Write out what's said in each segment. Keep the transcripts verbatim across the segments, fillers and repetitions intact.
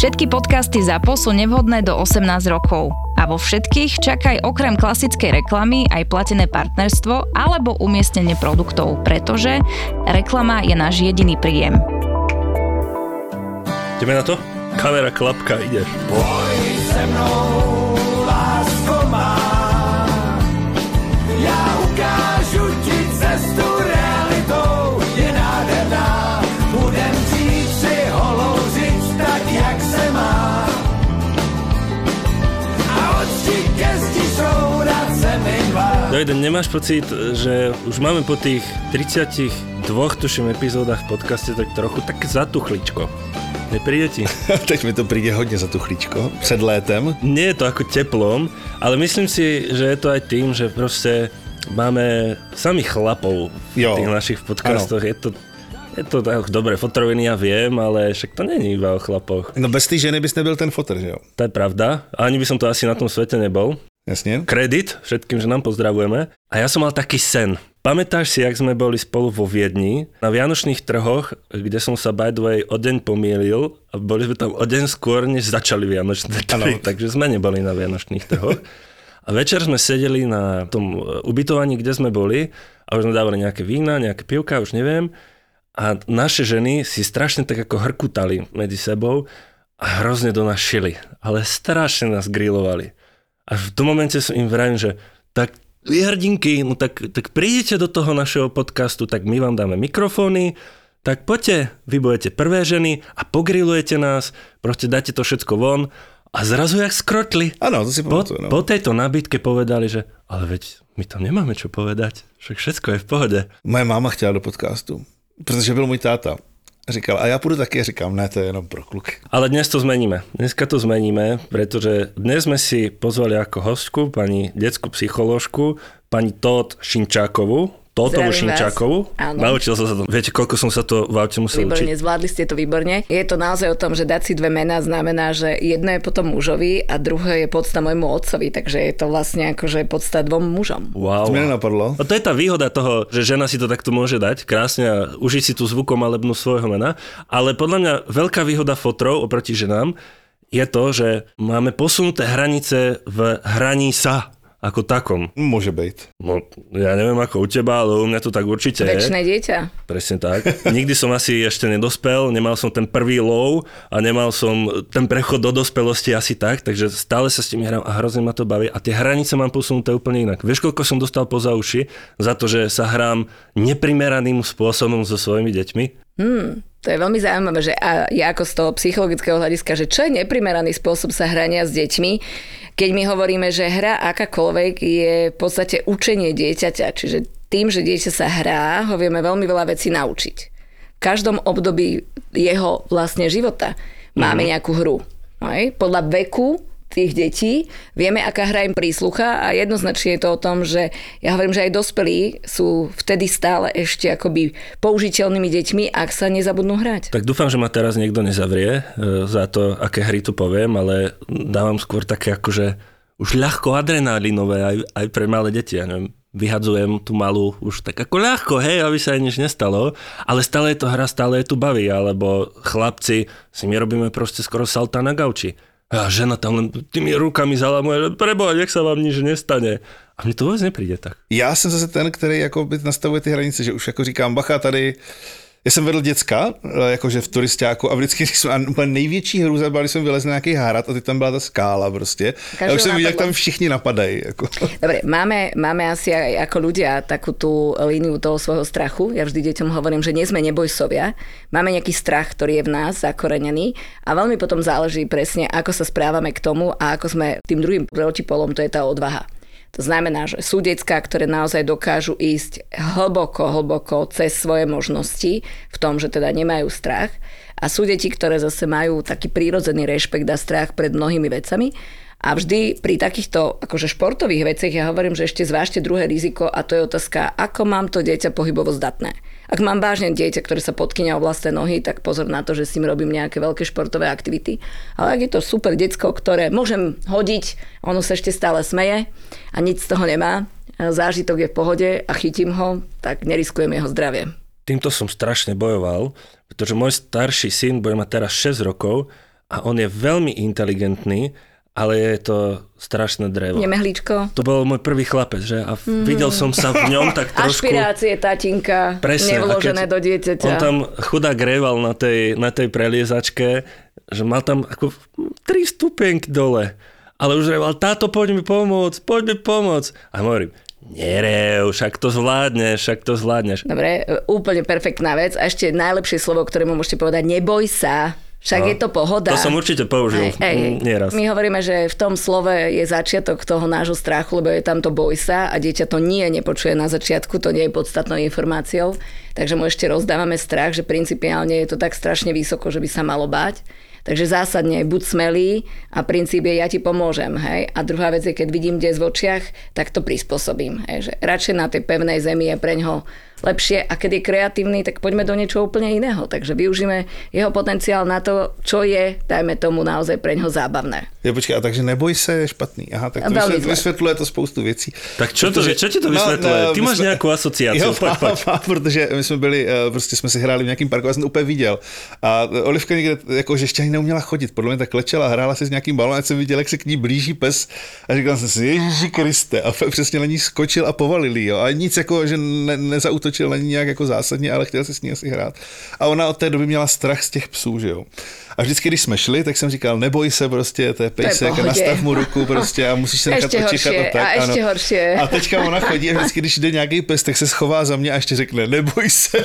Všetky podcasty ZAPO sú nevhodné do osemnásť rokov. A vo všetkých čakaj okrem klasickej reklamy aj platené partnerstvo alebo umiestnenie produktov, pretože reklama je náš jediný príjem. Ideme na to? Kamera, klapka, ideš. Pojď se mnou, lásko má, já ukážu ti cestu realitou, je nádherná, budem žít si holouřit tak, jak se má. A od zdi ke zdi šourat se mi dva. Dojde, nemáš pocit, že už máme po tých tridsiatich dvoch tuším epizódach v podcaste tak trochu tak zatuchličko? Nepríde ti? Teď mi to príde hodne za tuchlíčko. Před létem. Nie je to ako teplom, ale myslím si, že je to aj tým, že proste máme samých chlapov v jo. tých našich podcastoch. Ano. Je to, je to tak dobre, fotroviny ja viem, ale však to není iba o chlapoch. No bez tej ženy bys nebyl ten fotr, že jo? To je pravda. Ani by som to asi na tom svete nebol. Jasne. Kredit všetkým, že nám pozdravujeme. A ja som mal taký sen. Pamätáš si, jak sme boli spolu vo Viedni na vianočných trhoch, kde som sa by the way o deň pomýlil a boli sme tam o deň skôr, než začali vianočné trhy, takže sme neboli na vianočných trhoch. A večer sme sedeli na tom ubytovaní, kde sme boli a už sme dávali nejaké vína, nejaké pivka, už neviem. A naše ženy si strašne tak ako hrkutali medzi sebou a hrozne do nás šili, ale strašne nás grilovali. A v tom momente som im vravím, že tak vy hrdinky, no tak, tak prídete do toho našeho podcastu, tak my vám dáme mikrofóny, tak poďte, vy budete prvé ženy a pogrilujete nás, proste dáte to všetko von a zrazu jak skrotli. Áno, to si po, pamatujem. No. Po tejto nabídke povedali, že ale veď my tam nemáme čo povedať, však všetko je v pohode. Moje máma chtěla do podcastu, protože byl můj táta. Říkal, a ja pôjdu taky, říkám, ne, to je jenom pro kluky. Ale dnes to zmeníme. Dneska to zmeníme, pretože dnes sme si pozvali ako hostku pani detskú psycholóžku, pani Tóth Šinčákovú. Tóthovu Šinčákovú. Naučil som sa to. Viete, koľko som sa to v aute musel výborne, učiť? Zvládli ste to výborne. Je to naozaj o tom, že dať si dve mená znamená, že jedno je potom mužovi a druhé je podsta môjmu otcovi, takže je to vlastne akože podsta dvom mužom. Wow. To mi nenapadlo. A to je tá výhoda toho, že žena si to takto môže dať krásne a užiť si tú zvukomalebnú svojho mena, ale podľa mňa veľká výhoda fotrov oproti ženám je to, že máme posunuté hranice v hraní sa. Ako takom. Môže byť. No, ja neviem ako u teba, ale u mňa to tak určite je. Večné dieťa. Presne tak. Nikdy som asi ešte nedospel, nemal som ten prvý low a nemal som ten prechod do dospelosti asi tak, takže stále sa s tým hrám a hrozne ma to baví a tie hranice mám posunuté úplne inak. Vieš, koľko som dostal poza uši za to, že sa hrám neprimeraným spôsobom so svojimi deťmi? Hmm. To je veľmi zaujímavé, že a ja ako z toho psychologického hľadiska, že čo je neprimeraný spôsob sa hrania s deťmi, keď my hovoríme, že hra akákoľvek je v podstate učenie dieťaťa, čiže tým, že dieťa sa hrá, ho vieme veľmi veľa vecí naučiť. V každom období jeho vlastne života máme nejakú hru. Aj? Podľa veku tých detí vieme, aká hra im príslucha a jednoznačne je to o tom, že ja hovorím, že aj dospelí sú vtedy stále ešte akoby použiteľnými deťmi, ak sa nezabudnú hrať. Tak dúfam, že ma teraz niekto nezavrie e, za to, aké hry tu poviem, ale dávam skôr také akože už ľahko adrenalinové aj, aj pre malé deti, ja neviem. Vyhadzujem tú malú už tak ako ľahko, hej, aby sa aj nič nestalo, ale stále je to hra, stále je tu baví, alebo chlapci si my robíme proste skoro salta na gauči. A žena tam len tými rukami zalamuje, že preboha, nech sa vám nič nestane. A mne to vôbec nepríde tak. Já jsem zase ten, který jako nastavuje ty hranice, že už jako říkám, bacha, tady já jsem vedl děcka, jakože v turistáku a vždycky jsem, a úplně největší hrůza byla, když jsem vylezl na nějaký hrad a teď tam byla ta skála prostě. A už jsem viděl, jak tam všichni napadají. Jako. Dobre, máme, máme asi aj ako ľudia takú tú líniu toho svojho strachu. Ja vždy deťom hovorím, že nie sme nebojsovia. Máme nejaký strach, ktorý je v nás zakorenený a veľmi potom záleží presne, ako sa správame k tomu a ako sme tým druhým protipolom, to je tá odvaha. To znamená, že sú decká, ktoré naozaj dokážu ísť hlboko, hlboko cez svoje možnosti v tom, že teda nemajú strach. A sú deti, ktoré zase majú taký prírodzený rešpekt a strach pred mnohými vecami. A vždy pri takýchto akože športových veciach ja hovorím, že ešte zvážte druhé riziko a to je otázka, ako mám to dieťa pohybovo zdatné. Ak mám vážne dieťa, ktoré sa podkynia o vlastné nohy, tak pozor na to, že s ním robím nejaké veľké športové aktivity. Ale ak je to super decko, ktoré môžem hodiť, ono sa ešte stále smeje a nič z toho nemá, zážitok je v pohode a chytím ho, tak neriskujem jeho zdravie. Týmto som strašne bojoval, pretože môj starší syn bude mať teraz šesť rokov a on je veľmi inteligentný, ale je to strašné drevo. Nemehlíčko. To bol môj prvý chlapec, že? A mm. videl som sa v ňom tak trošku... Ašpirácie tatinka, presne, nevložené do dieťaťa. On tam chudák reval na tej, na tej preliezačke, že mal tam ako tri stupienky dole. Ale už reval, táto, poď mi pomôcť, poď mi pomôcť. A hovorím, nerev, však to zvládneš, však to zvládneš. Dobre, úplne perfektná vec. A ešte najlepšie slovo, ktoré mu môžete povedať, neboj sa. Však no, je to pohoda. To som určite použil hej, hej, nieraz. My hovoríme, že v tom slove je začiatok toho nášho strachu, lebo je tam to boj sa a dieťa to nie nepočuje na začiatku, to nie je podstatnou informáciou. Takže mu ešte rozdávame strach, že principiálne je to tak strašne vysoko, že by sa malo báť. Takže zásadne buď smelý a princíp je ja ti pomôžem. Hej? A druhá vec je, keď vidím des v očiach, tak to prispôsobím. Hej? Že radšej na tej pevnej zemi je preňho lepšie a keď je kreatívny, tak poďme do niečoho úplne iného. Takže využíme jeho potenciál na to, čo je, dajme tomu naozaj preňho zábavné. Ja počkej, a takže neboj se je špatný. Aha, tak to vysvětluje, vysvětluje to spoustu věcí. Tak čo, to, čo ti to vysvětluje? No, no, Ty máš jsme... nějakou asociaci. Jo, pojď, pojď. Má, protože my jsme byli, prostě jsme si hráli v nějakým parku, já jsem to úplně viděl. A Olivka někde, jako, že ještě ani neuměla chodit, podle mě tak klečela, hrála si s nějakým balonem, jsem viděl, jak se k ní blíží pes a říkal jsem si, Ježíši Kriste, a přesně na ní skočil a povalil jí, jo. A nic jako, že ne, nezautočil na ní nějak jako zásadně, ale chtěl si s ní asi hrát. A ona od té doby měla strach z těch psů, že jo. A vždycky, když jsme šli, tak jsem říkal, neboj se prostě, to je pejsek, nastav mu ruku prostě a musíš se nechat očichat a tak. A ještě ano. horší. A teďka ona chodí a vždycky, když jde nějaký pes, tak se schová za mě a ještě řekne, neboj se.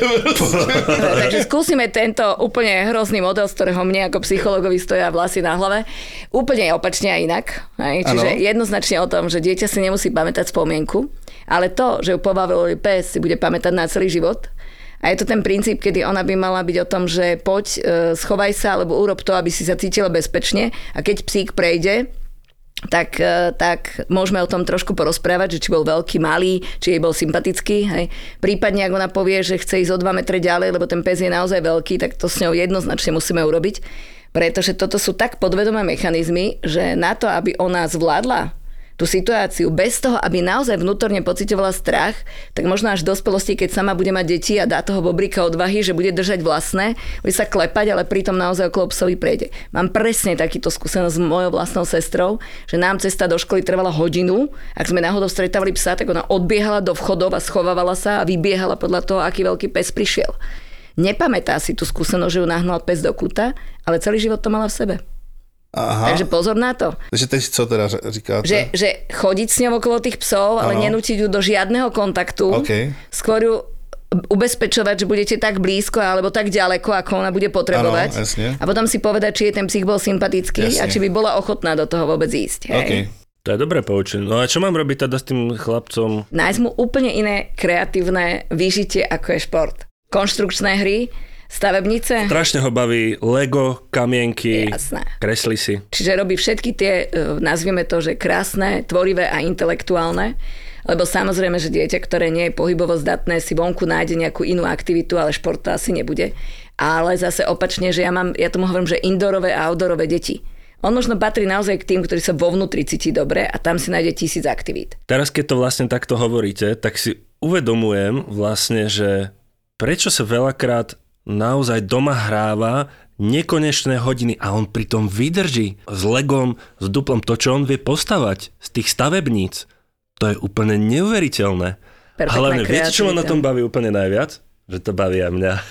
Takže skúsime tento úplne hrozný model, z ktorého mne ako psychologovi stoja vlasy na hlave. Úplne opačne a inak. Hej? Čiže ano. Jednoznačne o tom, že dieťa si nemusí pamätať spomienku, ale to, že ju pobavil pes, si bude pamätať na celý život. A je to ten princíp, kedy ona by mala byť o tom, že poď, schovaj sa, alebo urob to, aby si sa cítila bezpečne. A keď psík prejde, tak, tak môžeme o tom trošku porozprávať, že či bol veľký, malý, či jej bol sympatický. Hej. Prípadne, ak ona povie, že chce ísť o dva metre ďalej, lebo ten pes je naozaj veľký, tak to s ňou jednoznačne musíme urobiť. Pretože toto sú tak podvedomé mechanizmy, že na to, aby ona zvládla tú situáciu bez toho, aby naozaj vnútorne pociťovala strach, tak možno až v dospelosti, keď sama bude mať deti a dá toho bobrika odvahy, že bude držať vlastné, bude sa klepať, ale pritom naozaj okolo psovi prejde. Mám presne takýto skúsenosť s mojou vlastnou sestrou, že nám cesta do školy trvala hodinu, ak sme náhodou stretávali psa, tak ona odbiehala do vchodov a schovávala sa a vybiehala podľa toho, aký veľký pes prišiel. Nepamätá si tú skúsenosť, že ju nahnal pes do kúta, ale celý život to mala v sebe. Aha. Takže pozor na to. Takže teď co teda říkáte? Že, že chodiť s ňou okolo tých psov, ale ano. nenútiť ju do žiadneho kontaktu. Okay. Skôr ju ubezpečovať, že budete tak blízko alebo tak ďaleko, ako ona bude potrebovať. Ano, a potom si povedať, či je ten psík bol sympatický jasne. A či by bola ochotná do toho vôbec ísť. Hej? Okay. To je dobré poučenie. No a čo mám robiť teda s tým chlapcom? Nájsť mu úplne iné kreatívne vyžitie, ako je šport. Konštrukčné hry, stavebnice. Strašne ho baví Lego, kamienky, jasné. Kreslí si. Čiže robí všetky tie, nazvieme to, že krásne, tvorivé a intelektuálne, lebo samozrejme, že dieťa, ktoré nie je pohybovo zdatné, si vonku nájde nejakú inú aktivitu, ale šport to asi nebude. Ale zase opačne, že ja mám, ja tomu hovorím, že indoorové a outdoorové deti. On možno patrí naozaj k tým, ktorí sa vo vnútri cíti dobre a tam si nájde tisíc aktivít. Teraz, keď to vlastne takto hovoríte, tak si uvedomujem vlastne, že prečo sa veľakrát naozaj doma hráva nekonečné hodiny a on pritom vydrží s Legom, s duplom to, čo on vie postavať z tých stavebníc. To je úplne neuveriteľné. Perfektná hlavne, viete, čo ma na tom baví úplne najviac? Že to baví aj mňa.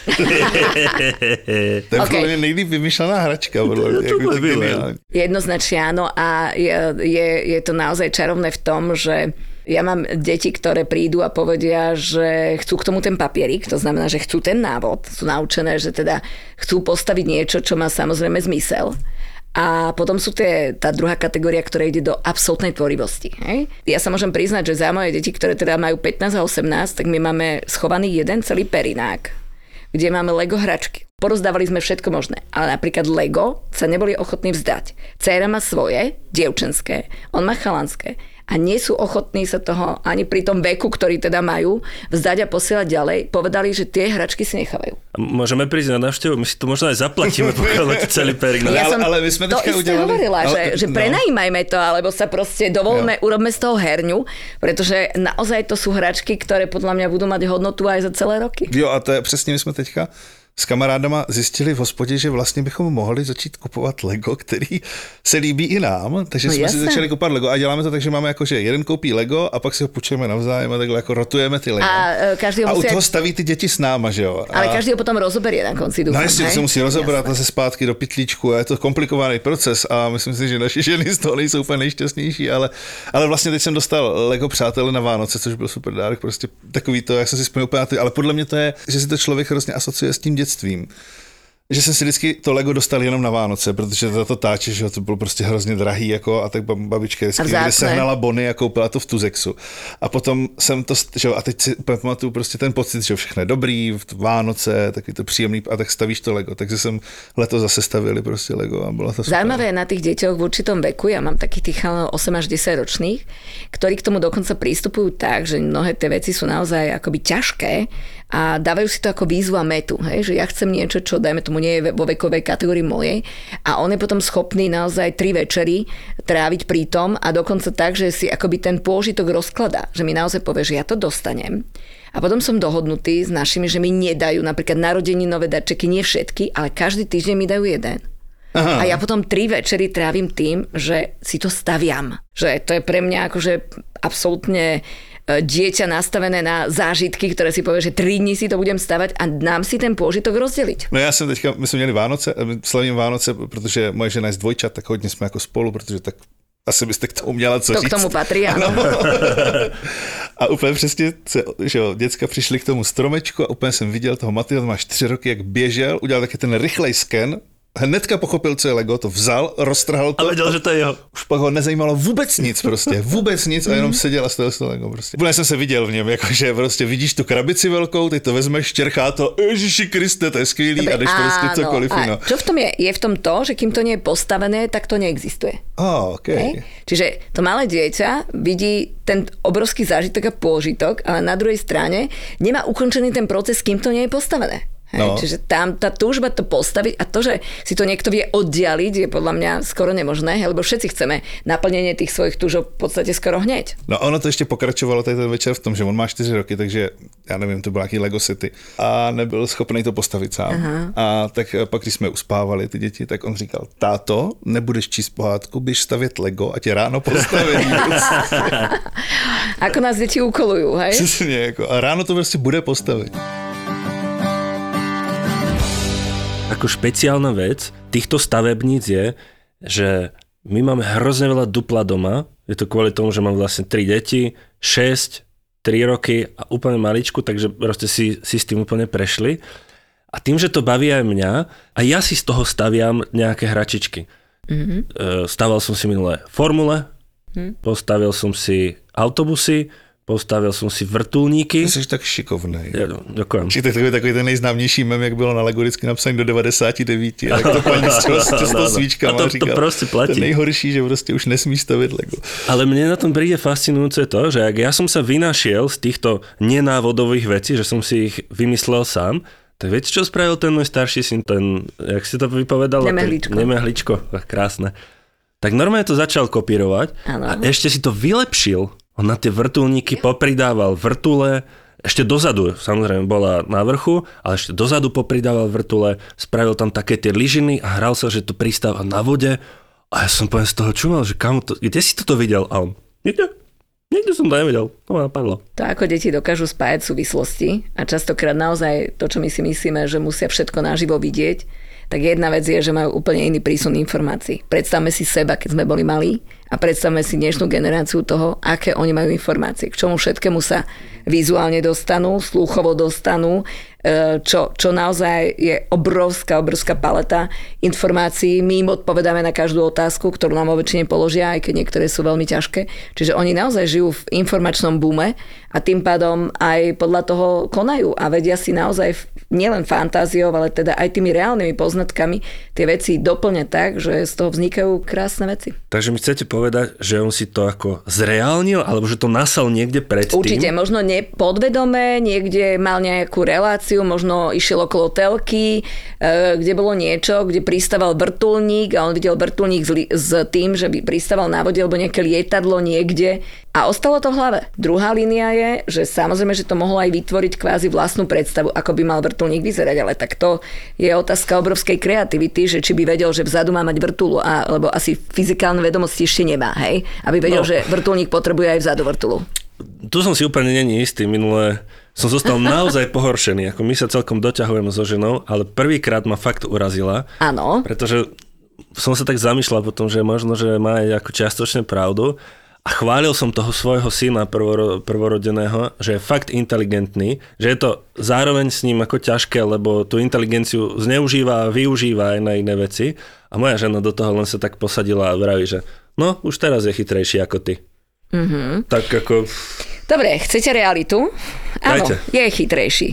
To je okay. Nejlíp vymyšlená hračka. Podľa, to jednoznačne áno a je, je, je to naozaj čarovné v tom, že ja mám deti, ktoré prídu a povedia, že chcú k tomu ten papierik, to znamená, že chcú ten návod, sú naučené, že teda chcú postaviť niečo, čo má samozrejme zmysel. A potom sú tie, tá druhá kategória, ktorá ide do absolútnej tvorivosti. Hej? Ja sa môžem priznať, že za moje deti, ktoré teda majú pätnásť a osemnásť, tak my máme schovaný jeden celý perinák, kde máme Lego hračky. Porozdávali sme všetko možné, ale napríklad Lego sa neboli ochotní vzdať. Dcéra má svoje, dievčenské, on má chalanské. A nie sú ochotní sa toho ani pri tom veku, ktorý teda majú, vzdať a posielať ďalej. Povedali, že tie hračky si nechávajú. Môžeme prísť na návštevu, my si to možno aj zaplatíme, pokiaľ celý perinák. Ja som ale, ale my sme to isté udelali... hovorila, ale, že, že no. prenajímajme to, alebo sa proste dovolme, no. urobme z toho herňu, pretože naozaj to sú hračky, ktoré podľa mňa budú mať hodnotu aj za celé roky. Jo, a to je přesně, my jsme teďka s kamarádama zjistili v hospodě, že vlastně bychom mohli začít kupovat Lego, který se líbí i nám, takže no jsme jasne. si začali kupovat Lego a děláme to tak, že máme jako, že jeden koupí Lego a pak si ho půjčujeme navzájem a takhle jako rotujeme ty Lego. A, e, každý ho a musí... u toho staví ty děti s náma, že jo. Ale a... každý ho potom rozoberie na konci, dúfam. No jestli hej? se musí rozobrat zase zpátky do pytlíčku a je to komplikovaný proces a myslím si, že naše ženy z toho nejsou úplně nejšťastnější, ale, ale vlastně teď jsem dostal Lego přátelé na Vánoce, což byl super dárek, prostě takový to, jak jsem si vzpomněl úplně na ty, ale podle mě to je, že si to člověk hrozně asociuje s tím dětstvím. Že jsem si vždycky to Lego dostal jenom na Vánoce, protože to, to táče, že to bylo prostě hrozně drahý, jako, a tak babička vždycky někde sehnala bony a koupila to v Tuzexu. A potom jsem to, že, a teď si úplně pamatuju prostě ten pocit, že všechno je dobrý, v Vánoce, taky to příjemný, a tak stavíš to Lego. Takže jsem letos zase stavili prostě Lego a bylo to super. Zaujímavé je na tých deťoch v určitom veku, ja mám takých tých osem až desať ročných, ktorí k tomu dokonca prístupujú tak, že mnohé tie veci sú naozaj akoby ťažké a dávajú si to ako výzvu a metu, hej? Že ja chcem niečo, čo dajme tomu nie je vo vekovej kategórii mojej a on je potom schopný naozaj tri večery tráviť pri tom a dokonca tak, že si akoby ten pôžitok rozkladá, že mi naozaj povie, že ja to dostanem a potom som dohodnutý s našimi, že mi nedajú napríklad narodeninové darčeky, nie všetky, ale každý týždeň mi dajú jeden. Aha. A ja potom tri večery trávim tým, že si to staviam. Že to je pre mňa akože absolútne dieťa nastavené na zážitky, ktoré si povie, že tri dní si to budem stavať a nám si ten pôžitok rozdeliť. No já jsem teďka, my jsme měli Vánoce, slavím Vánoce, protože moje žena je z dvojčat, tak hodně jsme jako spolu, protože tak asi byste k tomu měla co to říct. To k tomu patří, ano. A úplně přesně, že jo, děcka přišli k tomu stromečku a úplně jsem viděl toho Matyho, má čtyři roky, jak běžel, udělal taky ten rychlej sken, hnedka pochopil, co je Lego, to vzal, roztrhal to. A věděl, že to je jeho. Už pak ho nezajímalo vůbec nic prostě, vůbec nic a jenom seděl a stavil se Lego prostě. Úplně jsem se viděl v něm, jakože prostě vidíš tu krabici velkou, teď to vezmeš, čerchá to, Ježiši Kriste, to je skvělý. Dobre, a jdeš prostě cokoliv. A no. čo v tom je? Je v tom to, že kým to nie je postavené, tak to neexistuje. Oh, okay. Hej? Čiže to malé dieťa vidí ten obrovský zážitok a pôžitok, ale na druhej strane nemá ukončený ten proces, kým to nie je postavené. Hej, no. Čiže tam tá túžba to postaviť a to, že si to niekto vie oddialiť, je podľa mňa skoro nemožné, lebo všetci chceme naplnenie tých svojich túžob v podstate skoro hneď. No ono to ještě pokračovalo tady ten večer v tom, že on má čtyři roky, takže já nevím, to byl nějaký Lego City a nebyl schopný to postavit sám. Aha. A tak pak, když jsme uspávali ty děti, tak on říkal, táto, nebudeš číst pohádku, běž stavět Lego a tě ráno postaví. Ako nás deti ukolujú, hej? Přesně, jako, a ráno to prostě bude postavit. Ako špeciálna vec týchto stavebníc je, že my máme hrozne veľa dupla doma. Je to kvôli tomu, že mám vlastne tri deti, šesť, tri roky a úplne maličku, takže proste si, si s tým úplne prešli. A tým, že to baví aj mňa, a ja si z toho staviam nejaké hračičky. Mm-hmm. Staval som si minulé formule, mm. postavil som si autobusy, postavil som si vrtulníky. Ty jsi tak šikovnej. Ja, ďakujem. Či to je takový, takový ten nejznámější mem, jak bylo na Lego vždycky napsaný do devadesát devět. Jak to paní s tou svíčkama to, říkala. To proste platí. To nejhorší, že prostě už nesmíš stavit Lego. Ale mne na tom príde fascinujúce to, že ak ja som sa vynašiel z týchto nenávodových vecí, že som si ich vymyslel sám, tak viete, čo spravil ten môj starší syn, ten, jak si to vypovedal? Nemehličko. Nemehličko, krásne. Tak normálne to začal kopírovať a ešte si to vylepšil. On na tie vrtuľníky popridával vrtule, ešte dozadu, samozrejme bola na vrchu, ale ešte dozadu popridával vrtule, spravil tam také tie lyžiny a hral sa, že to pristáva na vode. A ja som poviem z toho čumal, že kam to, kde si toto videl? A on, niekde, niekde som to nevidel, to ma napadlo. To, ako deti dokážu spájať súvislosti a častokrát naozaj to, čo my si myslíme, že musia všetko naživo vidieť, tak jedna vec je, že majú úplne iný prísun informácií. Predstavme si seba, keď sme boli malí a predstavme si dnešnú generáciu toho, aké oni majú informácie, k čomu všetkému sa vizuálne dostanú, slúchovo dostanú, čo, čo naozaj je obrovská, obrovská paleta informácií. My im odpovedáme na každú otázku, ktorú nám vo väčšine položia, aj keď niektoré sú veľmi ťažké. Čiže oni naozaj žijú v informačnom boome a tým pádom aj podľa toho konajú a vedia si naozaj nielen fantáziou, ale teda aj tými reálnymi poznatkami tie veci doplňať tak, že z toho vznikajú krásne veci. Takže mi chcete povedať, že on si to ako zreálnil, alebo že to nasal niekde predtým? Určite, možno nepodvedome, niekde mal nejakú reláciu situáciu, možno išiel okolo telky, kde bolo niečo, kde pristával vrtuľník a on videl vrtuľník s tým, že by pristával na vode alebo nejaké lietadlo niekde a ostalo to v hlave. Druhá línia je, že samozrejme, že to mohlo aj vytvoriť kvázi vlastnú predstavu, ako by mal vrtuľník vyzerať, ale tak to je otázka obrovskej kreativity, že či by vedel, že vzadu má mať vrtuľu, a, lebo asi fyzikálne vedomosti ešte nemá, hej? Aby vedel, no. že vrtuľník potrebuje aj vzadu vrtuľu. Tu som si úplne není istý. Minulé som zostal naozaj pohoršený. Ako my sa celkom doťahujeme so ženou, ale prvýkrát ma fakt urazila. Áno. Pretože som sa tak zamýšľal potom, že možno, že má aj ako čiastočne pravdu. A chválil som toho svojho syna prvoro, prvorodeného, že je fakt inteligentný, že je to zároveň s ním ako ťažké, lebo tú inteligenciu zneužíva a využíva aj na iné veci. A moja žena do toho len sa tak posadila a vraví, že no, už teraz je chytrejší ako ty. Mm-hmm. Tak ako... Dobre, chcete realitu? Áno, Dajte. Je chytrejší.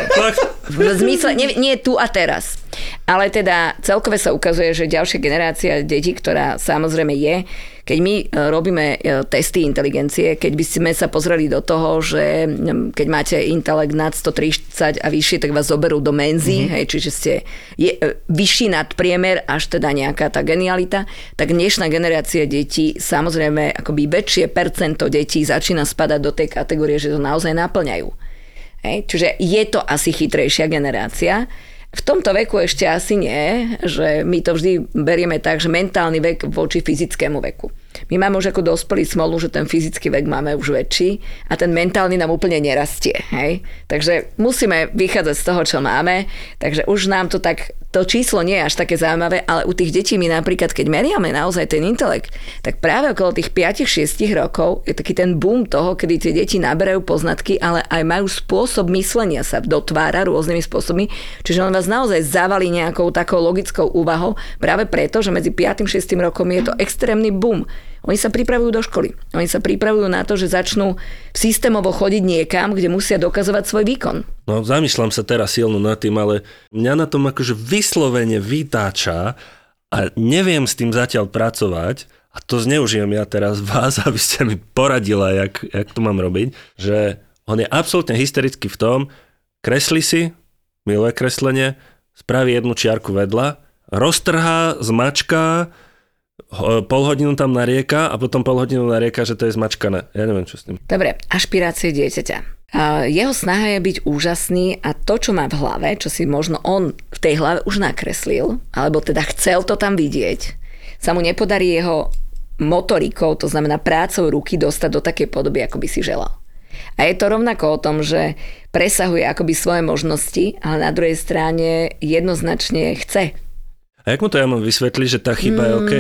V zmysle, nie, nie tu a teraz. Ale teda celkové sa ukazuje, že ďalšia generácia detí, ktorá samozrejme je, keď my robíme testy inteligencie, keď by sme sa pozreli do toho, že keď máte intelekt nad sto tridsať a vyššie, tak vás zoberú do menzy, mm-hmm. hej, čiže ste je, vyšší nad priemer, až teda nejaká tá genialita, tak dnešná generácia detí, samozrejme akoby väčšie percento detí začína spadať do tej kategórie, že to naozaj naplňajú. Hej, čiže je to asi chytrejšia generácia. V tomto veku ešte asi nie, že my to vždy berieme tak, že mentálny vek voči fyzickému veku. My máme už ako dospelí smolu, že ten fyzický vek máme už väčší a ten mentálny nám úplne nerastie. Hej? Takže musíme vychádzať z toho, čo máme. Takže už nám to tak, to číslo nie je až také zaujímavé, ale u tých detí my napríklad, keď meriame naozaj ten intelekt, tak práve okolo tých päť šesť rokov je taký ten boom toho, kedy tie deti naberajú poznatky, ale aj majú spôsob myslenia sa dotvára rôznymi spôsobmi. Čiže on vás naozaj zavalí nejakou takou logickou úvahou práve preto, že medzi päť šesť rokom je to extrémny boom. Oni sa pripravujú do školy. Oni sa pripravujú na to, že začnú systémovo chodiť niekam, kde musia dokazovať svoj výkon. No, zamýšľam sa teraz silno nad tým, ale mňa na tom akože vyslovene vytáča a neviem s tým zatiaľ pracovať a to zneužijem ja teraz vás, aby ste mi poradila, jak, jak to mám robiť, že on je absolútne hysterický v tom, kreslí si, miluje kreslenie, spraví jednu čiarku vedľa, roztrhá, zmačká, pol hodinu tam narieka a potom pol hodinu narieka, že to je zmačkané. Ja neviem, čo s tým. Dobre, ašpirácie dieťaťa. Jeho snaha je byť úžasný a to, čo má v hlave, čo si možno on v tej hlave už nakreslil, alebo teda chcel to tam vidieť, sa mu nepodarí jeho motorikou, to znamená prácou ruky, dostať do takej podoby, ako by si želal. A je to rovnako o tom, že presahuje akoby svoje možnosti, ale na druhej strane jednoznačne chce. A jak mu to ja mám vysvetliť, že tá chyba mm, je OK?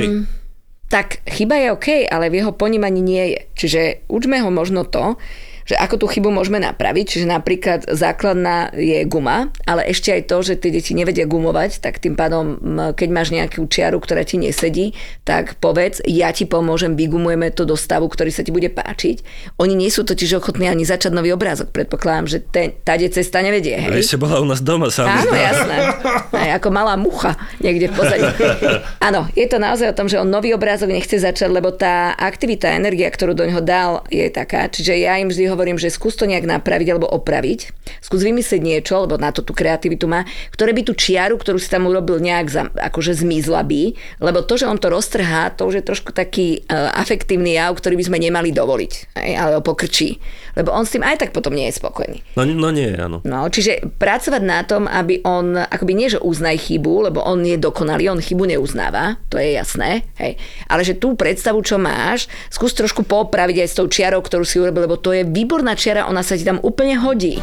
Tak chyba je OK, ale v jeho ponímaní nie je. Čiže učme ho možno to, že ako tú chybu môžeme napraviť. Čiže napríklad základná je guma, ale ešte aj to, že tie deti nevedia gumovať, tak tým pádom, keď máš nejakú čiaru, ktorá ti nesedí, tak povedz, ja ti pomôžem, vygumujeme to do stavu, ktorý sa ti bude páčiť. Oni nie sú totiž ochotní ani začať nový obrázok. Predpokladám, že ten, táde cesta nevedie. Hej? A ešte bola u nás doma, sa mi Áno, jasné. Aj ako malá mucha niekde v pozadí. Áno, je to naozaj o tom, že on nový obrázok nechce začať, lebo tá aktivita, energia, ktorú do ňoho dal, je taká. Čiže ja im vždy hovorím, že skús to nejak napraviť alebo opraviť. Skús vymyslieť niečo, lebo na to tú kreativitu má, ktoré by tú čiaru, ktorú si tam urobil nejak za, akože zmizla by, lebo to, že on to roztrhá, to už je trošku taký uh, afektívny jav, ktorý by sme nemali dovoliť, aj, ale ho pokrčí. Lebo on s tým aj tak potom nie je spokojný. No, no nie, áno. No, čiže pracovať na tom, aby on, akoby nie, že uznaj chybu, lebo on je dokonalý, on chybu neuznáva, to je jasné, hej. Ale že tú predstavu, čo máš, skús trošku popraviť aj s tou čiarou, ktorú si urobil, lebo to je výborná čiara, ona sa ti tam úplne hodí.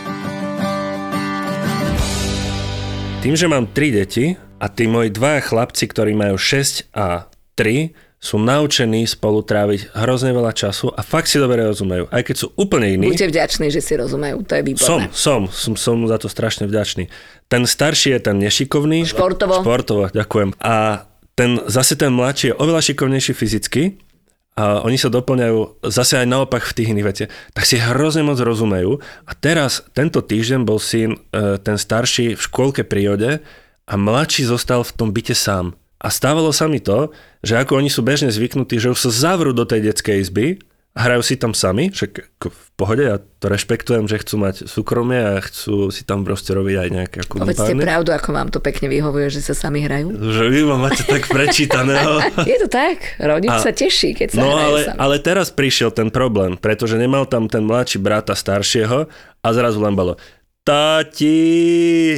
Tým, že mám tri deti a tí moji dvaja chlapci, ktorí majú šesť a tri, sú naučení spolu tráviť hrozne veľa času a fakt si dobre rozumejú, aj keď sú úplne iní. Buďte vďační, že si rozumejú, to je výborné. Som, som, som, som za to strašne vďačný. Ten starší je ten nešikovný. Športovo. Športovo, ďakujem. A ten, zase ten mladší je oveľa šikovnejší fyzicky a oni sa doplňajú zase aj naopak v tých iných veciach. Tak si hrozne moc rozumejú. A teraz, tento týždeň bol syn, ten starší v škôlke prírode a mladší zostal v tom byte sám. A stávalo sa mi to, že ako oni sú bežne zvyknutí, že už sa zavrú do tej detskej izby hrajú si tam sami, však v pohode, ja to rešpektujem, že chcú mať súkromie a chcú si tam proste robiť aj nejaké ako Povedzte pravdu, ako vám to pekne vyhovuje, že sa sami hrajú. Že vy ma máte tak prečítaného. Je to tak, rodič a, sa teší, keď sa no, hrajú ale, sami. ale teraz prišiel ten problém, pretože nemal tam ten mladší brata staršieho a zrazu len bolo Tati,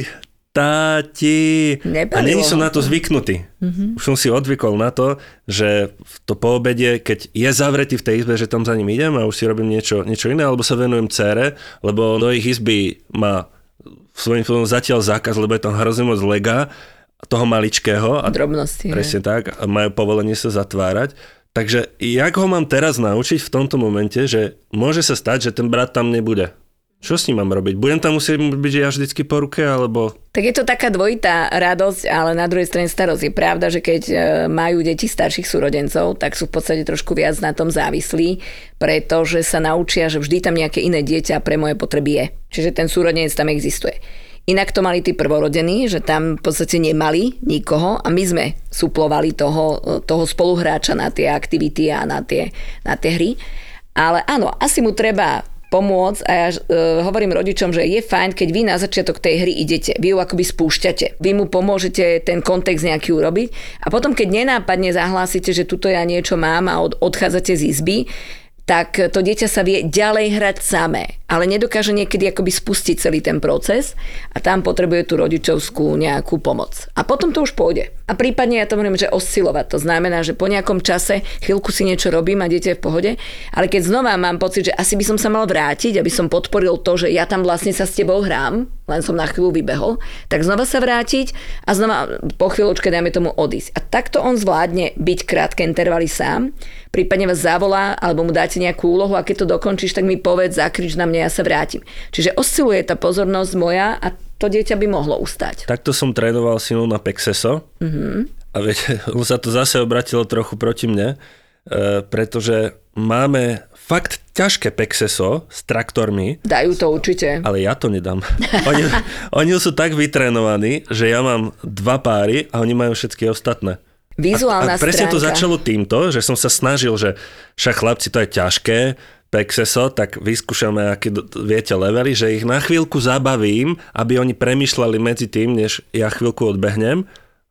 Tati. Nebavilo A není som ho na to to. zvyknutý. Mhm. Už som si odvykol na to, že v to po obede, keď je zavretý v tej izbe, že tam za ním idem a už si robím niečo, niečo iné, alebo sa venujem dcére, lebo do ich izby má svojím spôsobom zatiaľ zákaz, lebo je tam hrozne moc lega toho maličkého. A Drobnosti. presne tak. A majú povolenie sa zatvárať. Takže jak ho mám teraz naučiť v tomto momente, že môže sa stať, že ten brat tam nebude? Čo s ním mám robiť? Budem tam musieť byť ja vždycky po ruke, alebo... Tak je to taká dvojitá radosť, ale na druhej strane starosť. Je pravda, že keď majú deti starších súrodencov, tak sú v podstate trošku viac na tom závislí, pretože sa naučia, že vždy tam nejaké iné dieťa pre moje potreby je. Čiže ten súrodenec tam existuje. Inak to mali tí prvorodení, že tam v podstate nemali nikoho a my sme suplovali toho, toho spoluhráča na tie aktivity a na tie, na tie hry. Ale áno, asi mu treba pomôcť a ja uh, hovorím rodičom, že je fajn, keď vy na začiatok tej hry idete, vy ju akoby spúšťate, vy mu pomôžete ten kontext nejaký urobiť a potom, keď nenápadne zahlásite, že tuto ja niečo mám a od, odchádzate z izby, tak to dieťa sa vie ďalej hrať samé, ale nedokáže niekedy akoby spustiť celý ten proces a tam potrebuje tú rodičovskú nejakú pomoc. A potom to už pôjde. A prípadne ja to hovorím, že oscilovať. To znamená, že po nejakom čase chvíľku si niečo robím a dieťa je v pohode, ale keď znova mám pocit, že asi by som sa mal vrátiť, aby som podporil to, že ja tam vlastne sa s tebou hrám, len som na chvíľu vybehol, tak znova sa vrátiť a znova po chvíľočke dajme tomu odísť. A takto on zvládne byť krátke intervaly sám, prípadne vás zavolá alebo mu dáte nejakú úlohu a keď to dokončíš, tak mi povedz, zakrič na mňa, ja sa vrátim. Čiže osciluje tá pozornosť moja a to dieťa by mohlo ustať. Takto som trénoval synu na Pexeso mm-hmm. a viete, on sa to zase obratilo trochu proti mne, e, pretože máme fakt ťažké Pexeso s traktormi. Dajú to určite. Ale ja to nedám. Oni, oni sú tak vytrénovaní, že ja mám dva páry a oni majú všetky ostatné. Vizuálna a, a presne stránka. to začalo týmto, že som sa snažil, že však chlapci, to je ťažké, Pexeso, tak vyskúšame, aké viete levely, že ich na chvíľku zabavím, aby oni premýšľali medzi tým, než ja chvíľku odbehnem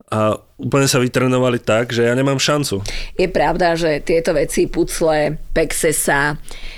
a úplne sa vytrenovali tak, že ja nemám šancu. Je pravda, že tieto veci, pucle, Pexesa,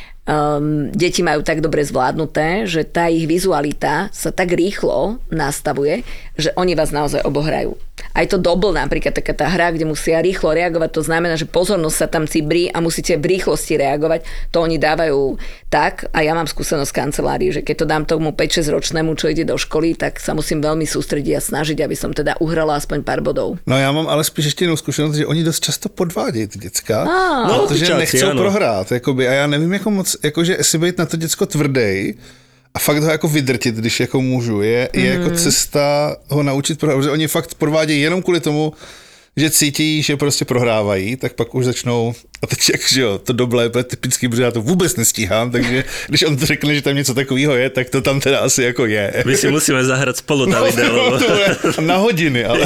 um, deti majú tak dobre zvládnuté, že tá ich vizualita sa tak rýchlo nastavuje, že oni vás naozaj obohrajú. Aj to double napríklad, taká tá hra, kde musia rýchlo reagovať, to znamená, že pozornosť sa tam cibrí a musíte v rýchlosti reagovať. To oni dávajú tak a ja mám skúsenosť v kancelárii, že keď to dám tomu päť šesť ročnému, čo ide do školy, tak sa musím veľmi sústrediť a snažiť, aby som teda uhrala aspoň pár bodov. No já mám ale spíš ještě jinou zkušenost, že oni dost často podvádějí ty děcka, Ah. No, protože tyčáci, nechcou ano. prohrát. Jakoby, a já nevím, jako moc, jakože jestli být na to děcko tvrdej a fakt ho jako vydrtit, když jako můžu, je, je mm. jako cesta ho naučit prohrát, protože oni fakt podvádějí jenom kvůli tomu, že cítí, že prostě prohrávají, tak pak už začnou, a teď jak, že jo, to doble je typický, protože já to vůbec nestíhám, takže když on to řekne, že tam něco takového je, tak to tam teda asi jako je. My si musíme zahrať spolu, No, Davide, lebo to je na hodiny, ale...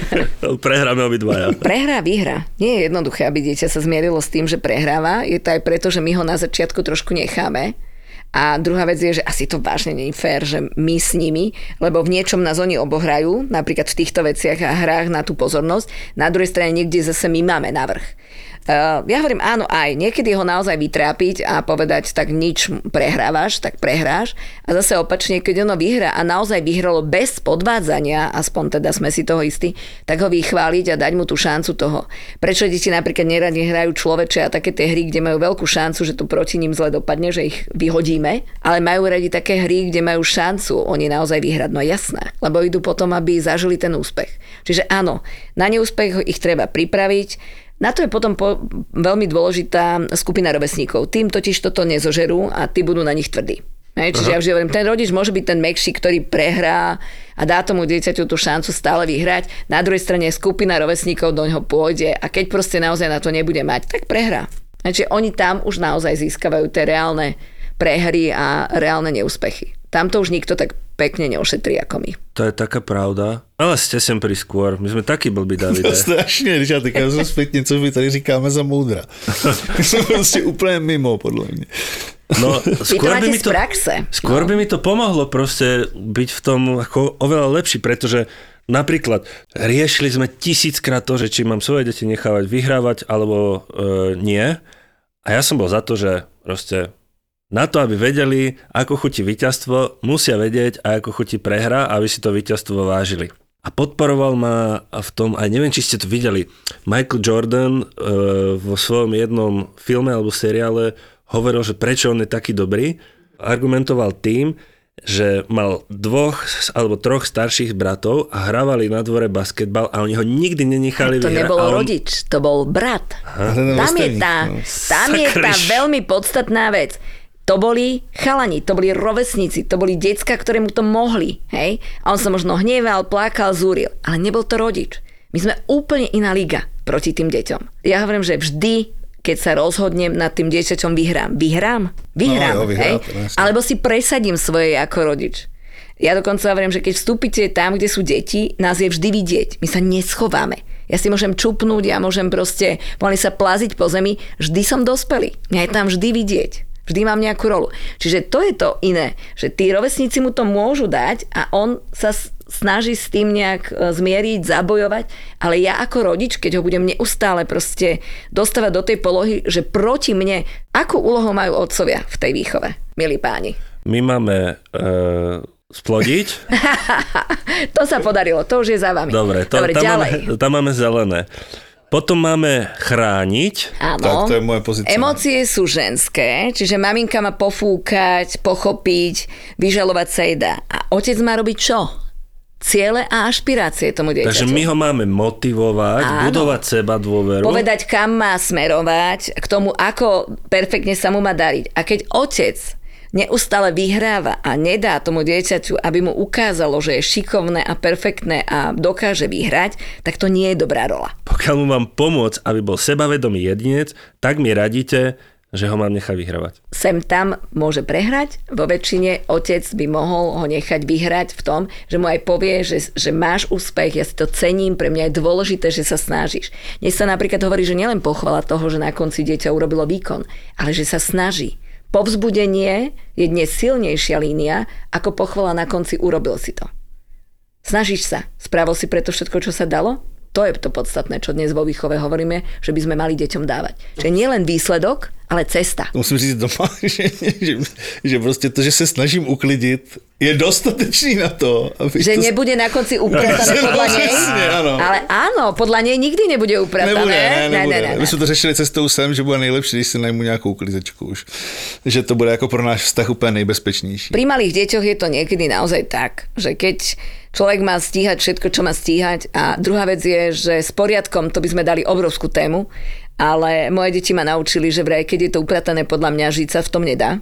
prehráme obidvaja. Prehra, výhra. Nie je jednoduché, aby dieťa sa zmierilo s tým, že prehráva. Je to aj preto, že my ho na začiatku trošku necháme. A druhá vec je, že asi to vážne nie je fér, že my s nimi, lebo v niečom nás oni obohrajú, napríklad v týchto veciach a hrách na tú pozornosť. Na druhej strane niekde zase my máme navrch. Uh, ja hovorím áno aj, niekedy ho naozaj vytrápiť a povedať, tak nič prehrávaš, tak prehráš. A zase opačne, keď ono vyhrá a naozaj vyhralo bez podvádzania, aspoň teda sme si toho istí, tak ho vychváliť a dať mu tú šancu toho. Prečo deti napríklad neradi hrajú človeče a také tie hry, kde majú veľkú šancu, že to proti ním zle dopadne, že ich vyhodíme, ale majú radi také hry, kde majú šancu oni naozaj vyhrať, no jasné, lebo idú potom, aby zažili ten úspech. Čiže áno, na neúspech ich treba pripraviť. Na to je potom po, veľmi dôležitá skupina rovesníkov. Tým totiž toto nezožerú a tí budú na nich tvrdí. Hej, čiže ja vždy hovorím, ten rodič môže byť ten mäkší, ktorý prehrá a dá tomu dieťaťu tú šancu stále vyhrať. Na druhej strane skupina rovesníkov do ňoho pôjde a keď proste naozaj na to nebude mať, tak prehrá. Čiže oni tam už naozaj získavajú tie reálne prehry a reálne neúspechy. Tam to už nikto tak pekne neošetrí ako my. To je taká pravda. Ale ste sem priskôr. My sme takí blbí, Davide. To strašně, když já teďka jsem zpětně, co my tady říkáme za moudra. My jsme prostě úplně mimo, podle mě. No, skôr by, mi to, praxe. skôr no. by mi to pomohlo proste byť v tom ako oveľa lepší, pretože napríklad riešili sme tisíckrát to, že či mám svoje deti nechávať vyhrávať alebo e, nie. A ja som bol za to, že proste na to, aby vedeli, ako chutí víťazstvo, musia vedieť, ako chutí prehra, aby si to víťazstvo vážili. A podporoval ma v tom, aj neviem, či ste to videli, Michael Jordan e, vo svojom jednom filme alebo seriále hovoril, že prečo on je taký dobrý. Argumentoval tým, že mal dvoch alebo troch starších bratov a hrávali na dvore basketbal a oni ho nikdy nenechali vyhrať. To nebol on... rodič, to bol brat. Aha. Tam je tá, tam je tá veľmi podstatná vec. To boli chalani, to boli rovesníci, to boli decka, ktoré mu to mohli. Hej? A on sa možno hneval, plakal, zúril, ale nebol to rodič. My sme úplne iná liga proti tým deťom. Ja hovorím, že vždy, keď sa rozhodnem nad tým dieťaťom, vyhrám. Vyhrám? Vyhrám, no, jo, vyhrám, hej? Alebo si presadím svoje ako rodič. Ja dokonca hovorím, že keď vstúpite tam, kde sú deti, nás je vždy vidieť. My sa neschováme. Ja si môžem čupnúť, ja môžem proste, mohli sa plaziť po zemi, vždy som dospelý. Mňa je tam vždy vidieť. Vždy mám nejakú rolu. Čiže to je to iné, že tí rovesníci mu to môžu dať a on sa snaží s tým nejak zmieriť, zabojovať, ale ja ako rodič, keď ho budem neustále proste dostávať do tej polohy, že proti mne, akú úlohu majú otcovia v tej výchove, milí páni? My máme e, splodiť. To sa podarilo, to už je za vami. Dobre, to, Dobre tam, ďalej. máme, tam máme zelené. Potom máme chrániť. Áno. Tak to je moja pozícia. Emócie sú ženské, čiže maminka má pofúkať, pochopiť, vyžalovať sa jej dá. A otec má robiť čo? Ciele a ašpirácie tomu dieťaťu. Takže my ho máme motivovať, áno, budovať seba dôveru. Povedať, kam má smerovať, k tomu, ako perfektne sa mu má dariť. A keď otec neustále vyhráva a nedá tomu dieťaťu, aby mu ukázalo, že je šikovné a perfektné a dokáže vyhrať, tak to nie je dobrá rola. Pokiaľ mu mám pomôcť, aby bol sebavedomý jedinec, tak mi radíte, že ho mám nechať vyhrávať. Sem tam môže prehrať, vo väčšine otec by mohol ho nechať vyhrať v tom, že mu aj povie, že, že máš úspech, ja si to cením, pre mňa je dôležité, že sa snažíš. Dnes sa napríklad hovorí, že nielen pochvala toho, že na konci dieťa urobilo výkon, ale že sa snaží. Povzbudenie je dnes silnejšia línia, ako pochvala na konci urobil si to. Snažíš sa, spravil si preto všetko, čo sa dalo? To je to podstatné, čo dnes vo výchove hovoríme, že by sme mali deťom dávať. Čiže nie len výsledok, ale cesta. Musím říct doma, že, že, že prostě to, že se snažím uklidit, je dostatečný na to. Že to... nebude na konci upratané podľa nej? Áno. Ale áno, podľa nej nikdy nebude upratané. Nebude, ne, nebude. Ne, ne, ne, My jsme to řešili cestou sem, že bude nejlepší, když si najmu nějakou uklizečku už. Že to bude jako pro náš vztah úplně nejbezpečnější. Pri malých deťoch je to niekedy naozaj tak, že keď človek má stíhať všetko, čo má stíhať, a druhá vec je, že s poriadkom to by sme dali obrovskú tému, ale moje deti ma naučili, že vraj, keď je to upratané, podľa mňa žiť sa v tom nedá.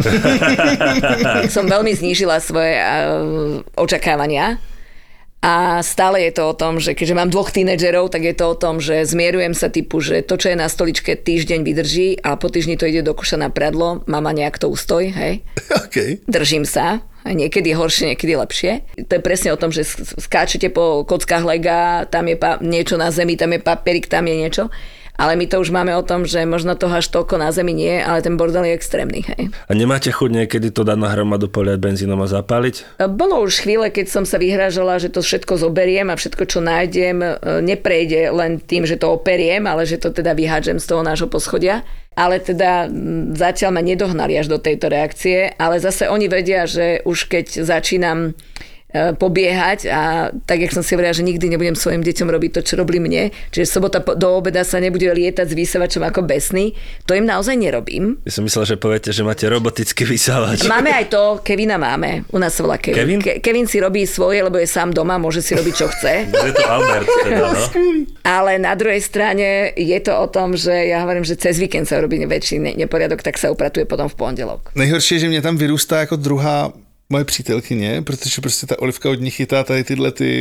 Som veľmi znížila svoje uh, očakávania a stále je to o tom, že keďže mám dvoch tínedžerov, tak je to o tom, že zmierujem sa typu, že to, čo je na stoličke, týždeň vydrží a po týždni to ide do koša na pradlo, mama nejak to ustoj, hej? Okay. Držím sa, niekedy horšie, niekedy lepšie. To je presne o tom, že skáčete po kockách lega, tam je pa- niečo na zemi, tam je papierik, tam je niečo. Ale my to už máme o tom, že možno toho až toľko na zemi nie, ale ten bordel je extrémny. Hej. A nemáte chuť niekedy to dať na hromadu, poliať benzínom a zapáliť? Bolo už chvíle, keď som sa vyhrážala, že to všetko zoberiem a všetko, čo nájdem, neprejde len tým, že to operiem, ale že to teda vyhádžem z toho nášho poschodia. Ale teda zatiaľ ma nedohnali až do tejto reakcie, ale zase oni vedia, že už keď začínam pobiehať a tak, jak som si hovorila, že nikdy nebudem svojim deťom robiť to, čo robili mne, čiže sobota do obeda sa nebude lietať s vysávačom ako besný, to im naozaj nerobím. Ja som myslel, že poviete, že máte robotický vysávač. Máme aj to, Kevina máme, u nás sa volá Kevin. Kevin? Ke- Kevin si robí svoje, lebo je sám doma, môže si robiť, čo chce. Je to Albert teda, no? Ale na druhej strane je to o tom, že ja hovorím, že cez víkend sa robí väčší neporiadok, tak sa upratuje potom v pondelok. Nejhorší je, že mě tam vyrůstá jako druhá moje přítelkyně, protože prostě ta Olivka od nich chytá tady tyhle ty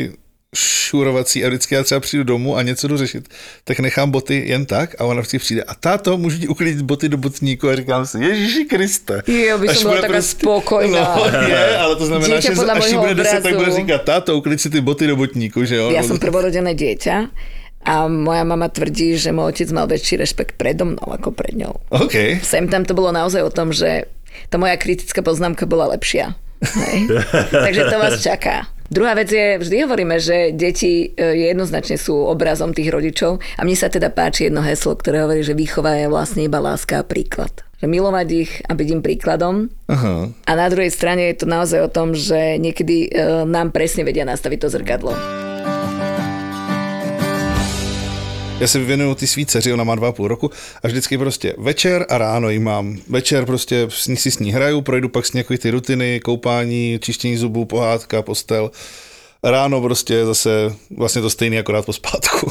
šurovací a vždycky já třeba přijdu domů a něco jdu řešit, tak nechám boty jen tak a ona vždycky přijde a táto, můžu ti uklidit boty do botníku a říkám si, Ježiši Kriste. Jo, by som bola taká prostě... spokojná. No, je, ale to znamená, dieťa že až ti bude deset, tak bude obrazu. říkat, táto, uklid si ty boty do botníku, že jo? Ja som prvorodené dieťa a moja mama tvrdí, že môj otec mal väčší rešpekt predo mnou ako pred ňou. OK. Sem tam to bolo naozaj o tom, že tá moja kritická poznámka bola lepšia. Hej. Takže to vás čaká. Druhá vec je, vždy hovoríme, že deti jednoznačne sú obrazom tých rodičov a mne sa teda páči jedno heslo, ktoré hovorí, že výchova je vlastne iba láska a príklad. Že milovať ich a byť im príkladom. Aha. A na druhej strane je to naozaj o tom, že niekedy nám presne vedia nastaviť to zrkadlo. Já se vyvěnuju ty svý dceři, ona má dva a půl roku a vždycky prostě večer a ráno jí mám. Večer prostě s ní si s ní hraju, projdu pak s ní ty rutiny, koupání, čištění zubů, pohádka, postel. Ráno prostě zase vlastně to stejný, akorát po spátku.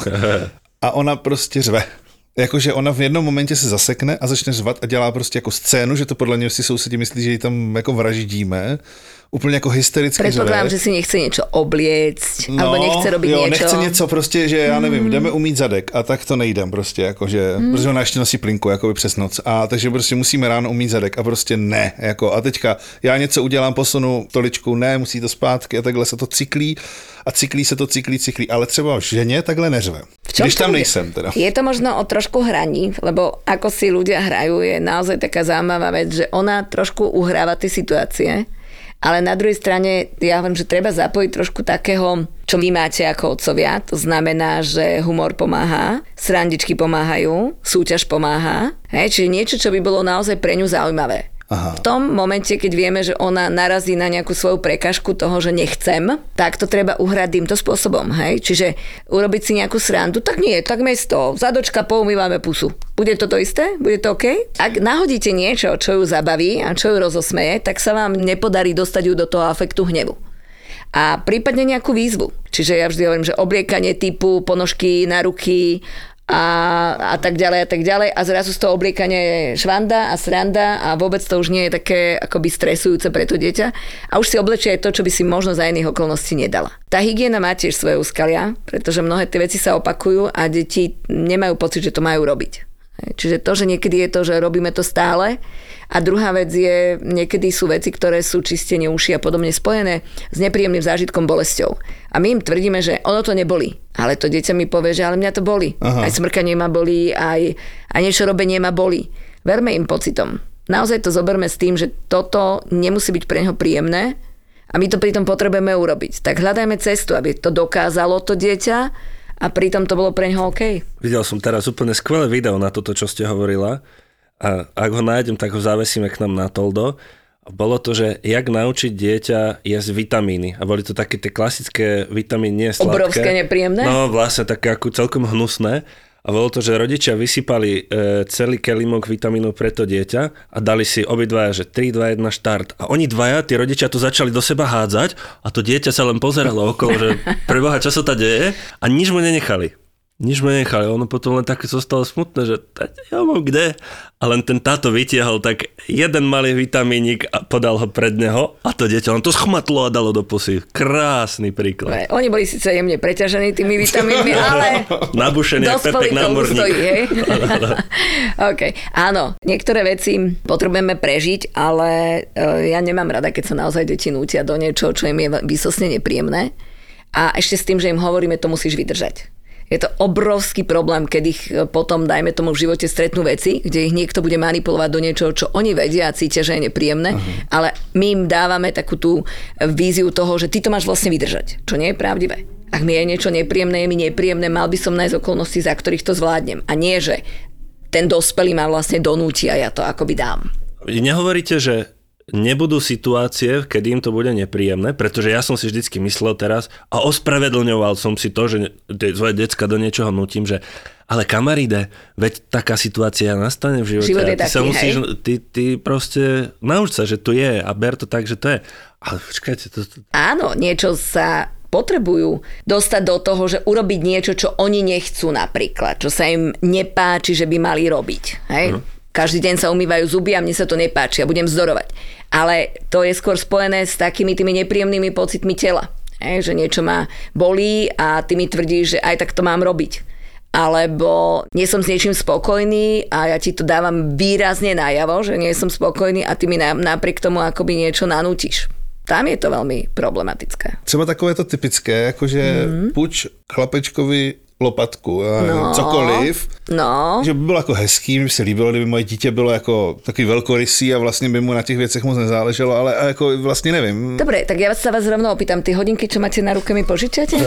A ona prostě řve. Jakože ona v jednom momentě se zasekne a začne řvat a dělá prostě jako scénu, že to podle něj si sousedí myslí, že ji tam jako vraždíme. Úplně jako hystericky řve. Predpokladám, že si nechce niečo obliecť, no, alebo nechce robiť jo, niečo. nechce něco prostě, že já nevím, mm. jdeme umýt zadek a tak to nejdem prostě, jakože, mm. protože ona ještě nosí plinku, jakoby přes noc a takže prostě musíme ráno umýt zadek a prostě ne, jako a teďka já něco udělám, posunu stoličku, ne, musí to zpátky a takhle se to cyklí a cyklí se to, cyklí, cyklí, ale třeba ženě takhle neřve. Když tam nejsem teda. Je to možno o trošku hraní, lebo ako si ľudia hrajú, je naozaj taká zaujímavá vec, že ona trošku uhráva tie situácie, ale na druhej strane ja hovorím, že treba zapojiť trošku takého, čo vy máte ako otcovia. To znamená, že humor pomáha, srandičky pomáhajú, súťaž pomáha. Hej, čiže niečo, čo by bolo naozaj pre ňu zaujímavé. Aha. V tom momente, keď vieme, že ona narazí na nejakú svoju prekažku toho, že nechcem, tak to treba uhrať týmto spôsobom. Hej? Čiže urobiť si nejakú srandu, tak nie, tak mesto, zadočka, poumývame pusu. Bude to to isté? Bude to OK? Ak nahodíte niečo, čo ju zabaví a čo ju rozosmeje, tak sa vám nepodarí dostať ju do toho afektu hnevu. A prípadne nejakú výzvu. Čiže ja vždy hovorím, že obliekanie typu ponožky na ruky, A, a tak ďalej a tak ďalej a zrazu z toho obliekania je švanda a sranda a vôbec to už nie je také akoby stresujúce pre to dieťa a už si oblečie aj to, čo by si možno za iných okolností nedala. Tá hygiena má tiež svoje úskalia, pretože mnohé tie veci sa opakujú a deti nemajú pocit, že to majú robiť. Čiže to, že niekedy je to, že robíme to stále a druhá vec je, niekedy sú veci, ktoré sú čistenie uši a podobne spojené s nepríjemným zážitkom, bolesťou. A my im tvrdíme, že ono to nebolí. Ale to dieťa mi povie, že ale mňa to bolí. Aha. Aj smrkanie ma bolí, aj, aj niečo robenie ma bolí. Verme im pocitom. Naozaj to zoberme s tým, že toto nemusí byť pre neho príjemné a my to pritom potrebujeme urobiť. Tak hľadajme cestu, aby to dokázalo to dieťa a pritom to bolo pre ňoho OK. Videl som teraz úplne skvelé video na toto, čo ste hovorila. A ak ho nájdem, tak ho zavesíme k nám na Toldo. Bolo to, že jak naučiť dieťa jesť vitamíny. A boli to také tie klasické vitamíny, nie sladké. Obrovské nepríjemné? No vlastne také ako celkom hnusné. A bolo to, že rodičia vysypali e, celý kelímok vitamínov pre to dieťa a dali si obidvaja, že tri, dva, jeden štart. A oni dvaja, tí rodičia to začali do seba hádzať a to dieťa sa len pozeralo okolo, že preboha, čo sa to deje a nič mu nenechali. Nič mu nenechali. Ono potom len také zostalo smutné, že ja mám kde. A len ten táto vytiahol tak jeden malý vitamínik a podal ho pred neho a to dieťa len to schmatlo a dalo do pusy. Krásny príklad. Oni boli síce jemne preťažení tými vitamínmi, ale nabušený jak Pepek námorník. Stojí, hej? OK. Áno, niektoré veci potrebujeme prežiť, ale ja nemám rada, keď sa naozaj deti nútia do niečoho, čo im je výsostne nepríjemné. A ešte s tým, že im hovoríme, to musíš vydržať. Je to obrovský problém, keď ich potom, dajme tomu, v živote stretnú veci, kde ich niekto bude manipulovať do niečoho, čo oni vedia a cítia, že je nepríjemné, uh-huh. ale my im dávame takú tú víziu toho, že ty to máš vlastne vydržať, čo nie je pravdivé. Ak mi je niečo nepríjemné, je mi nepríjemné, mal by som nájsť okolnosti, za ktorých to zvládnem. A nie, že ten dospelý ma vlastne donúti a ja to akoby dám. Nehovoríte, že nebudú situácie, kedy im to bude nepríjemné, pretože ja som si vždycky myslel teraz a ospravedlňoval som si to, že svoje decka do niečoho nutím, že ale kamaríde, veď taká situácia nastane v živote. Život je ty taký, sa musíš, hej? ty, ty proste nauč sa, že tu je a ber to tak, že to je. Ale počkajte. To, to... Áno, niečo sa potrebujú dostať do toho, že urobiť niečo, čo oni nechcú napríklad, čo sa im nepáči, že by mali robiť. Hej? Hm. Každý deň sa umývajú zuby a mne sa to nepáči a budem vzdorovať. Ale to je skôr spojené s takými tými nepríjemnými pocitmi tela. Hej, že niečo ma bolí a ty mi tvrdíš, že aj tak to mám robiť. Alebo nie som s niečím spokojný a ja ti to dávam výrazne najavo, že nie som spokojný a ty mi napriek tomu akoby niečo nanútiš. Tam je to veľmi problematické. Třeba takové to typické, jakože mm. puč chlapečkovi lopatku, no, cokoliv. No. Že by bylo jako hezký, mi by se líbilo, kdyby moje dítě bylo jako takový velkorysý a vlastně by mu na těch věcech moc nezáleželo, ale jako vlastně nevím. Dobre, tak ja sa vás rovno opýtam, ty hodinky, čo máte na ruke, mi požičiate?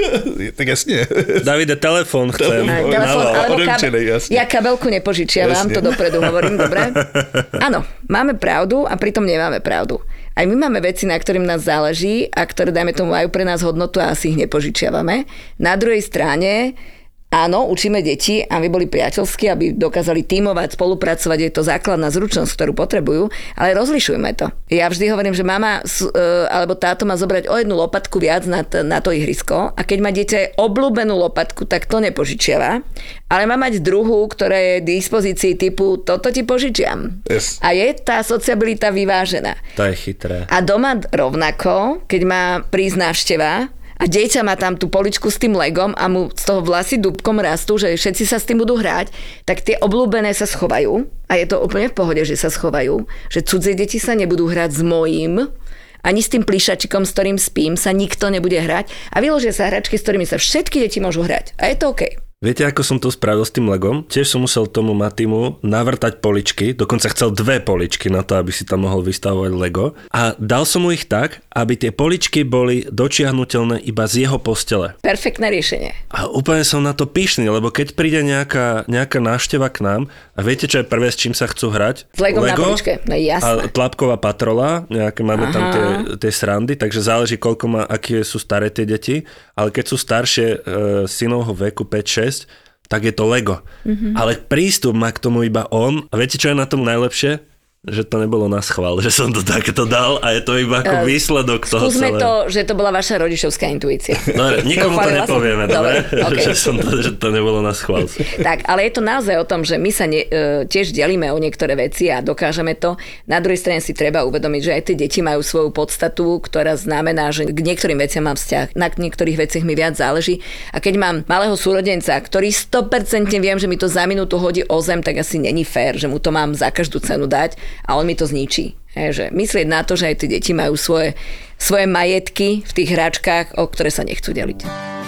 Tak jasně. Davide, telefón chcem. Telefón, alebo kabel, ja kabelku nepožičiavam, to dopredu hovorím, dobre? Áno, máme pravdu a pritom nemáme pravdu. Aj my máme veci, na ktorým nás záleží a ktoré, dajme tomu, majú pre nás hodnotu a asi ich nepožičiavame. Na druhej strane, áno, učíme deti, aby boli priateľskí, aby dokázali tímovať, spolupracovať, je to základná zručnosť, ktorú potrebujú, ale rozlišujme to. Ja vždy hovorím, že mama alebo táto má zobrať o jednu lopatku viac na, t- na to ihrisko a keď má dieťa obľúbenú lopatku, tak to nepožičiava, ale má mať druhú, ktorá je v dispozícii typu toto ti požičiam. Yes. A je tá sociabilita vyvážená. To je chytré. A doma rovnako, keď má prísť návšteva, a dieťa má tam tú poličku s tým legom a mu z toho vlasy dúbkom rastú, že všetci sa s tým budú hrať, tak tie obľúbené sa schovajú a je to úplne v pohode, že sa schovajú, že cudzie deti sa nebudú hrať s mojím, ani s tým plíšačikom, s ktorým spím, sa nikto nebude hrať a vyložia sa hračky, s ktorými sa všetky deti môžu hrať. A je to OK. Viete, ako som to spravil s tým Legom? Tiež som musel tomu Matimu navrtať poličky, dokonca chcel dve poličky na to, aby si tam mohol vystavovať Lego. A dal som mu ich tak, aby tie poličky boli dočiahnutelné iba z jeho postele. Perfektné riešenie. A úplne som na to pyšný, lebo keď príde nejaká, nejaká návšteva k nám a viete, čo je prvé, s čím sa chcú hrať? S Legom Lego na poličke, no jasné. A tlapková patrola, nejaké máme Aha. tam tie, tie srandy, takže záleží, koľko má, aké sú staré tie deti, ale keď sú staršie e, synovho veku päť šesť, tak je to Lego. Mm-hmm. Ale prístup má k tomu iba on. A viete, čo je na tom najlepšie? Že to nebolo na schvál, že som to takto dal a je to iba ako uh, výsledok toho skúsme celého. to, že to bola vaša rodičovská intuícia. No, nikomu to nepovieme, dobre? Okay. Že, som to, že to nebolo na schvál. Tak, ale je to naozaj o tom, že my sa ne, tiež delíme o niektoré veci a dokážeme to. Na druhej strane si treba uvedomiť, že aj tie deti majú svoju podstatu, ktorá znamená, že k niektorým veciam mám vzťah, na niektorých veciach mi viac záleží. A keď mám malého súrodenca, ktorý sto percent viem, že mi to za minútu hodí o zem, tak asi není fér, že mu to mám za každú cenu dať. A on mi to zničí. He, že myslieť na to, že aj tie deti majú svoje, svoje majetky v tých hračkách, o ktoré sa nechcú deliť.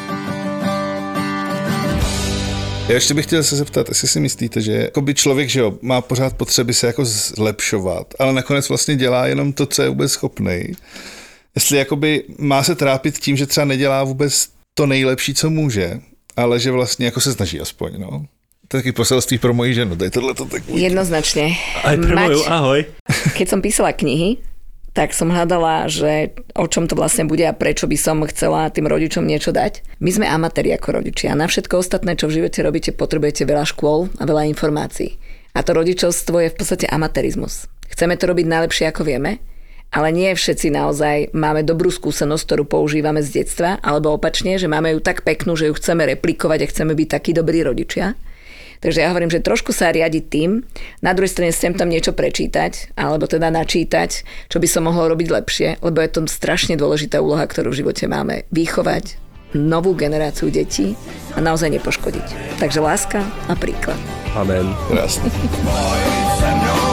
Já ještě bych chtěl se zeptat, jestli si myslíte, že jakoby člověk, že jo, má pořád potřeby se jako zlepšovat, ale nakonec vlastně dělá jenom to, co je vůbec schopnej. Jestli jakoby má se trápit tím, že třeba nedělá vůbec to nejlepší, co může, ale že vlastně jako se snaží aspoň, no. To je taký poselství pro moji ženu, daj tohleto tak buď. Jednoznačne. Aj pre moju, ahoj. Keď som písala knihy, tak som hľadala, že o čom to vlastne bude a prečo by som chcela tým rodičom niečo dať. My sme amatéri ako rodičia a na všetko ostatné, čo v živote robíte, potrebujete veľa škôl a veľa informácií. A to rodičovstvo je v podstate amatérizmus. Chceme to robiť najlepšie, ako vieme, ale nie všetci naozaj máme dobrú skúsenosť, ktorú používame z detstva, alebo opačne, že máme ju tak peknú, že ju chceme replikovať a chceme byť takí dobrí rodičia. Takže ja hovorím, že trošku sa riadiť tým, na druhej strane chcem tam niečo prečítať, alebo teda načítať, čo by som mohol robiť lepšie, lebo je to strašne dôležitá úloha, ktorú v živote máme. Vychovať novú generáciu detí a naozaj nepoškodiť. Takže láska a príklad. Amen. Krásne. Pojď se mnou